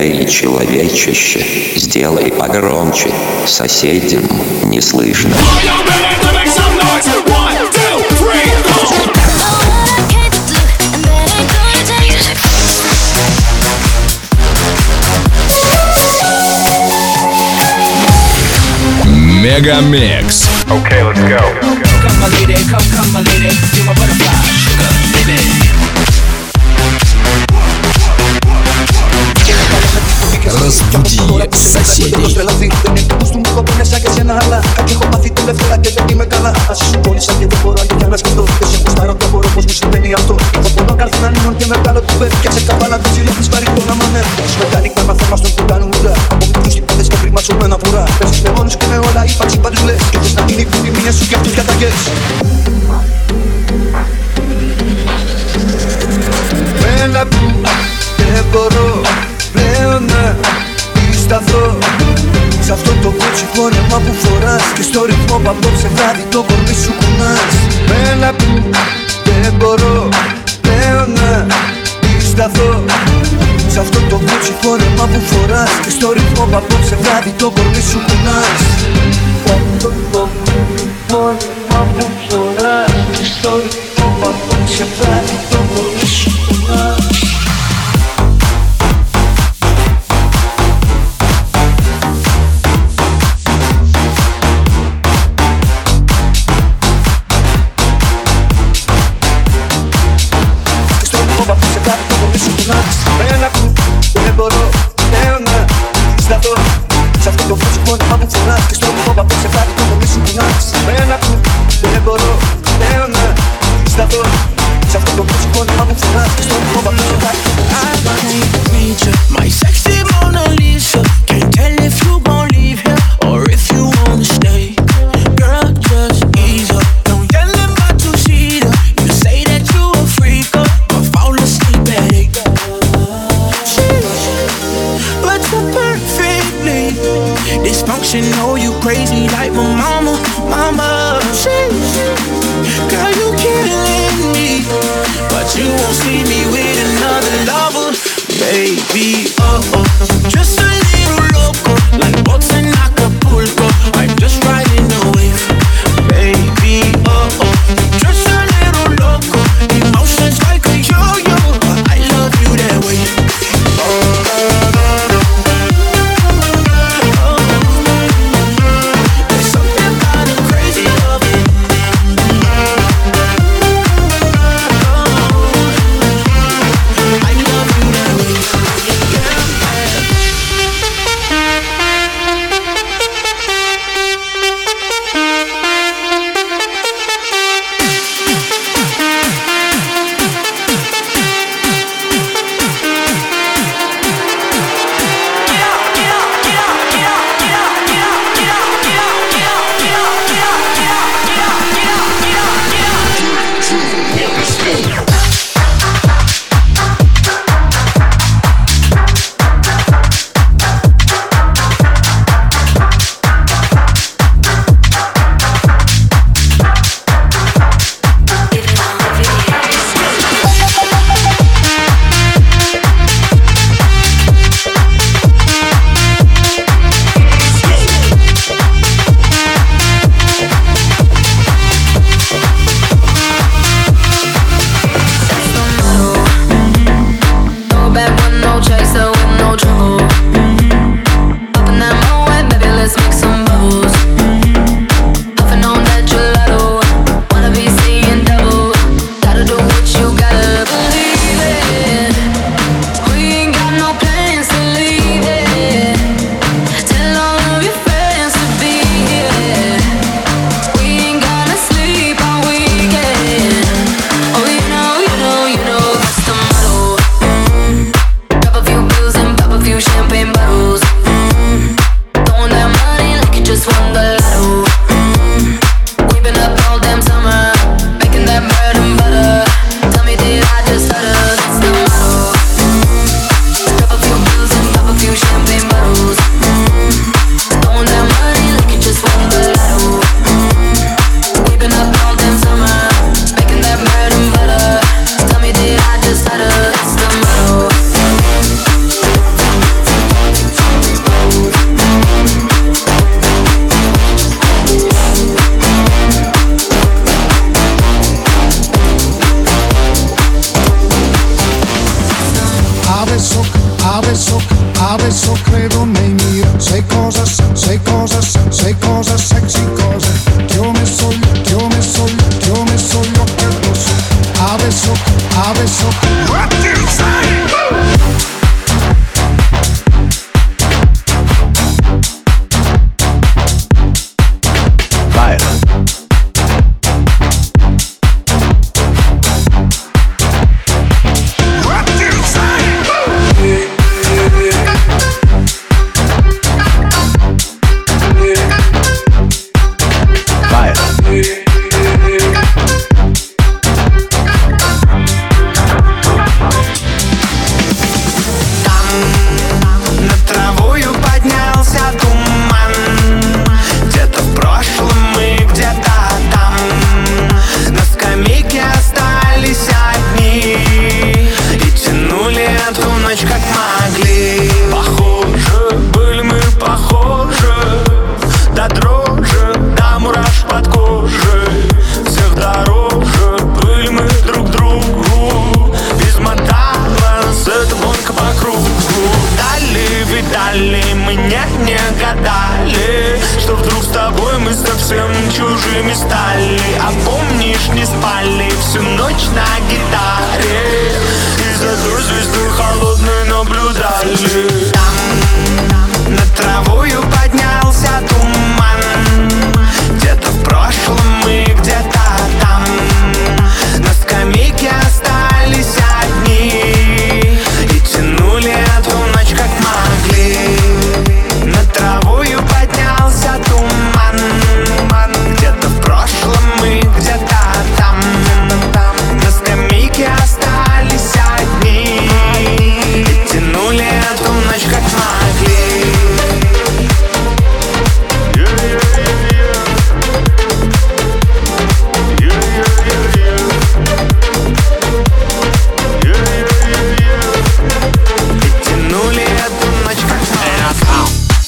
Эй, человечище, сделай погромче, соседям не слышно. Мегамикс. Okay, let's go. Come my lady, come my lady, you're my butterfly, sugar, baby. Разбуди соседей. Δεν μπορώ πλέον να σταθώ σε αυτό το κότσι φόρεμα που φοράς και στο ρυθμό που απόψε βράδυ το κορμί σου κουνάς. Με ένα που δεν μπορώ πλέον να σταθώ σε αυτό το κότσι φόρεμα που φοράς και στο ρυθμό που απόψε βράδυ το κορμί σου κουνάς. Αυτό το φόρεμα που φοράς και στο ρυθμό που απόψε βράδυ το κορμί σου κουνάς. Δεν μπορώ πλέον να σταθώ σε αυτό το φως που που φοράς και στο φόβο που σε φάει το κορμί σου κουνάς. Δεν μπορώ πλέον να σταθώ σε αυτό το φως που φοράς και στο φόβο που σε φάει το κορμί σου κουνάς. My sexy Mona Lisa, can't tell if you gon' leave here or if you wanna stay. Girl, just ease up, don't yell at my two-seater. You say that you a freak up, but fall asleep at 8. But you're perfectly dysfunctional, you crazy like my mama. Girl, you killing me, but you won't see me with another lover. Baby, just a little loco, like boats in Acapulco. I'm just riding the wave. Baby, just a little loco, emotions like a yo-yo. I love you that way. There's something about a crazy loving. I love you that way. adesso credo nei miei. Sei cosa, sei cosa, sei cosa, sexy cosa. Ti ho messo gli occhi addosso. Adesso what you say? Чужими стали, а помнишь, не спали всю ночь на гитаре и за той звездой холодной наблюдали. Там над травою поднялся туман. Где-то в прошлом мы где-то там. На скамейке остались одни и тянули эту ночь как могли. Над травою поднялся туман. Где-то в прошлом мы где-то там. На скамейке остались одни и тянули эту ночь как могли. И тянули эту ночь как могли.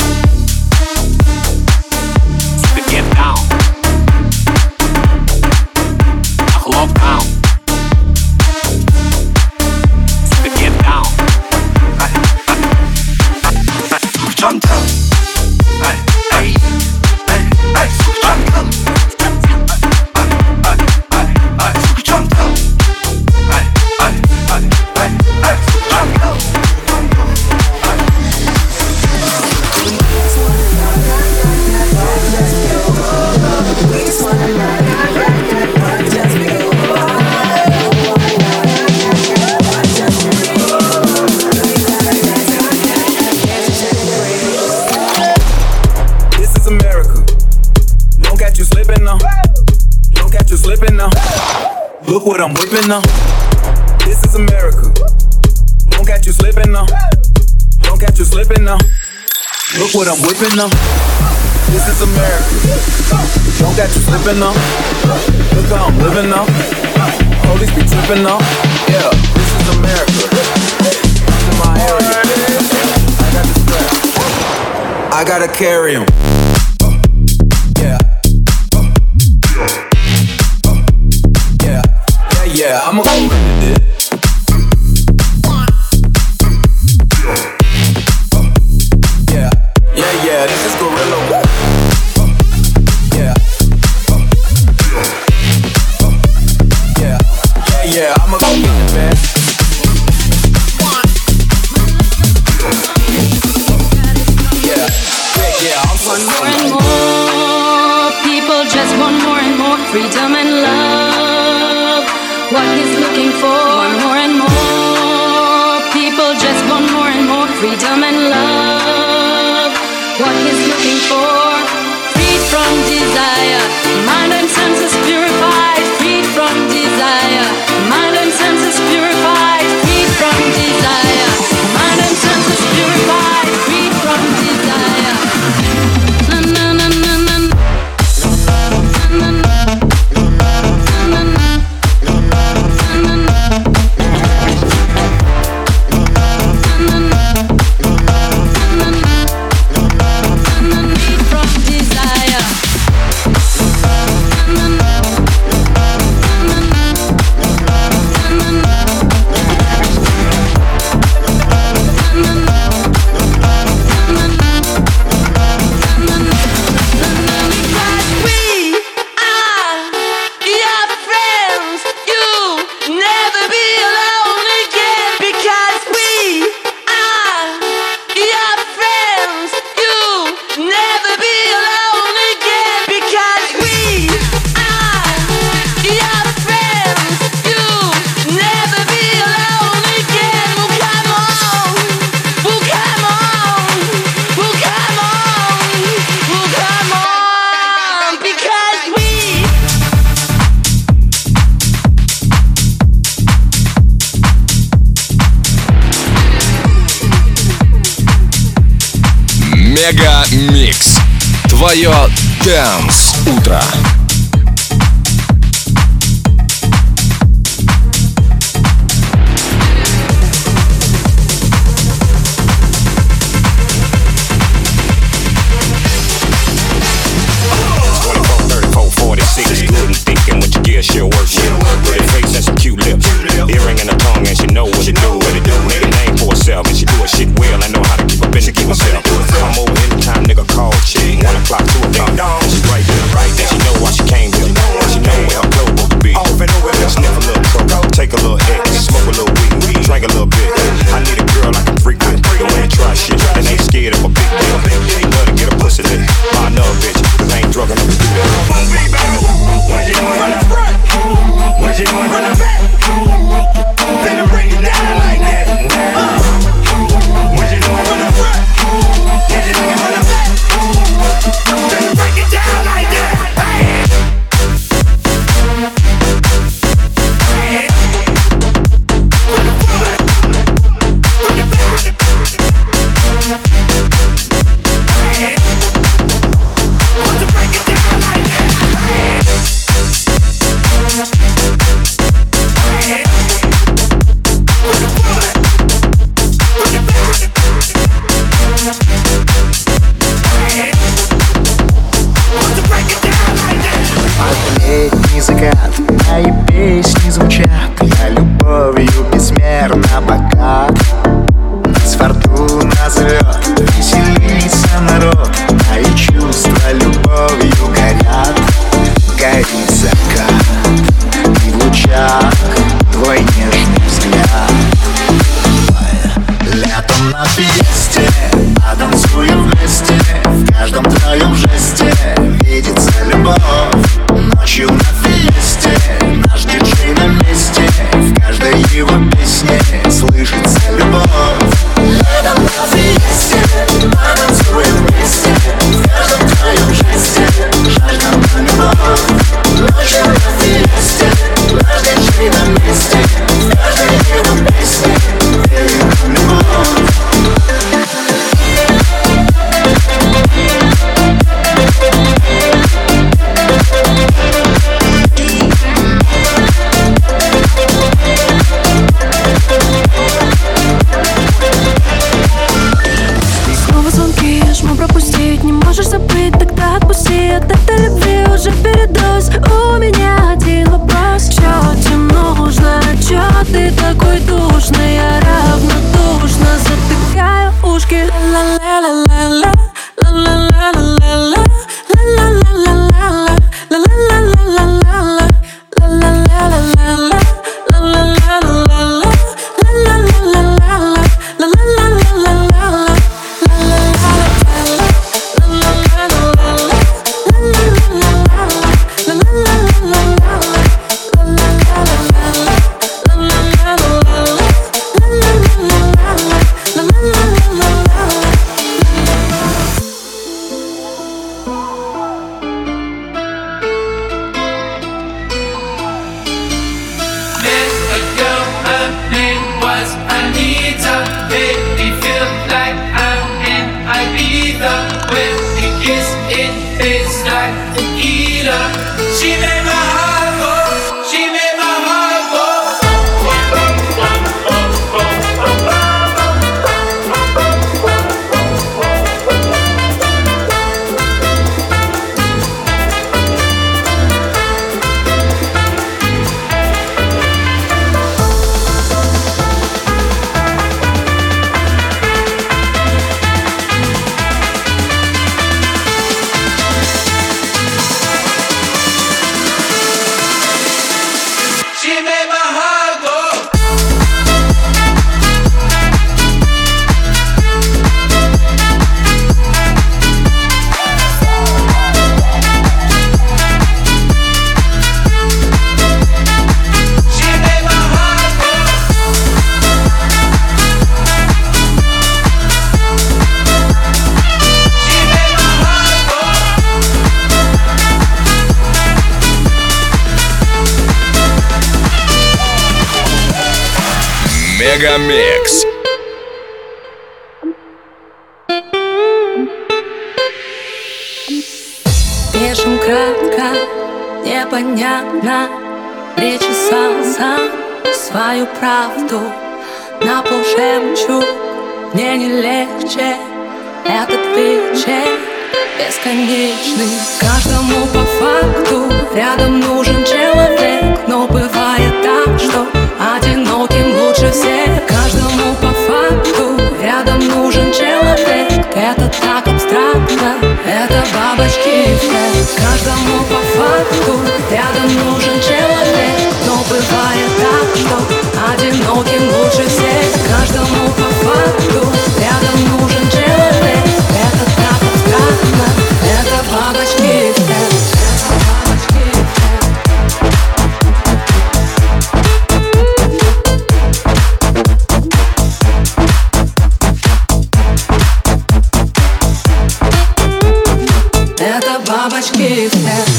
Look what I'm whipping now. This is America. Don't catch you slipping now. Don't catch you slipping now. Look what I'm whipping now. This is America. Don't catch you slipping now. Look how I'm living now. Police be tripping now. Yeah, this is America. Come to my area. I got the strap. I gotta carry 'em. Yeah, I'ma go with it. Yeah, this is Gorilla. Yeah, I'ma go get it, man. Yeah, I'm so more and more people just want more and more freedom and love. What he's looking for, more and more people just want more and more freedom and love. What he's looking for, freed from desire, mind and senses purified, freed from desire, mind and senses purified, freed from desire, mind and senses purified, freed from desire. Na na na na na. Na na na. Мега Микс. Твое Dance утро. She'll work with a face and some cute lips, earring in her tongue, and she know what to do. Make a name for herself, and she do her shit well. I know how to keep a business to herself. I'm over anytime, nigga call chick. 1 o'clock, 2 o'clock, she right there. She know why she came here. She know where her clothes supposed to be. Sniff a little coke, take a little X, smoke a little weed, drink a little bit. I need a girl I can freak with. Don't wanna try shit, and ain't scared of a big dick. Love to get a pussy lit. I know a bitch, 'cause I ain't drunk enough to do that. What you doing from the front? What you doing from the back? Finna bring it down like that. What you doing from the front? What you doing from the back? Finna break it down like that. Летний закат, мои песни звучат. Я любовью безмерно богат. Нас фортуна зовет, веселится народ. Мои чувства любовью горят. Горит закат, и в лучах твой нежный взгляд. Летом на фесте, потанцуем вместе. В каждом твоем жесте видится любовь. Ночью на фесте наш диджей на месте. В каждой его песне слышится любовь. Летом на фесте, потанцуем вместе. В каждом твоем жесте жажда на любовь. Ночью на фесте наш диджей на месте. В каждой его песне видится любовь. От этой любви уже передоз. У меня один вопрос: чё тебе нужно? Чё ты такой душный? Я равнодушно затыкаю ушки. Ла-ла-ла-ла-ла, ла-ла-ла-ла-ла, ла-ла-ла-ла-ла, ла-ла-ла-ла-ла, ла-ла-ла-ла-ла, ла-ла-ла-ла-ла, She made my heart go. She made my heart go. Мегамикс. Слишком кратко, непонятно причесал сам свою правду на полжемчуг. Мне не легче этот вечер бесконечный. Каждому по факту рядом нужен человек, но бывает так, что одиноким лучше всех. Каждому по факту рядом нужен человек. Это так абстрактно, это бабочки эффект. Каждому по факту рядом нужен человек, но бывает так, что одиноким лучше всех. Каждому по факту рядом нужен человек. Это так абстрактно, это бабочки эффект. Это бабочки эффект.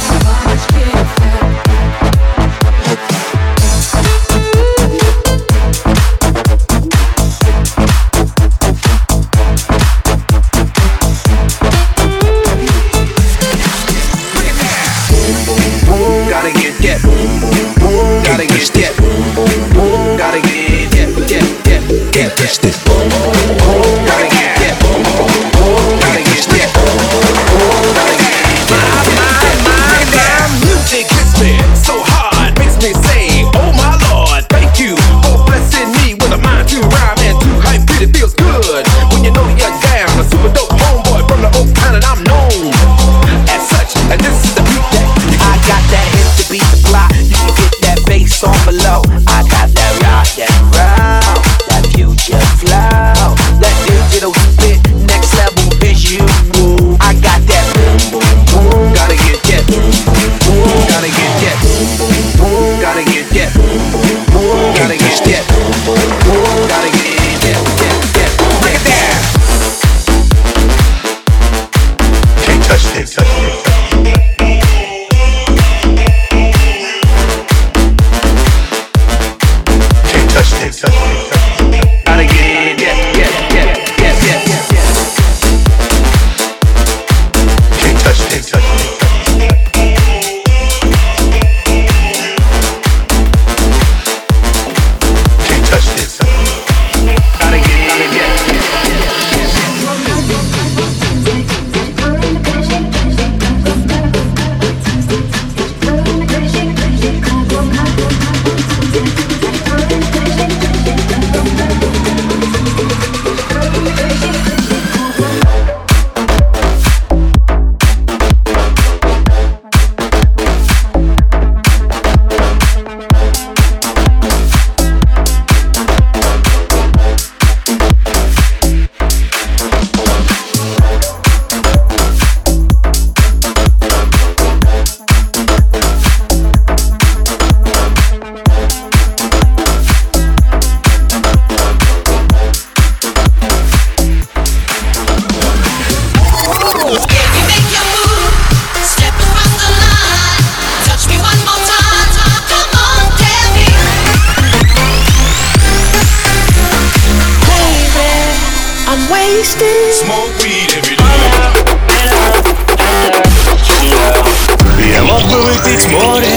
Я мог бы выпить море,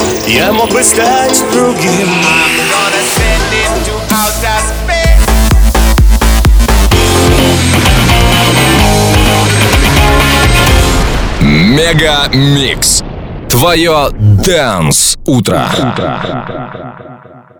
я мог бы стать другим. Мега Микс. Твое Dance утро.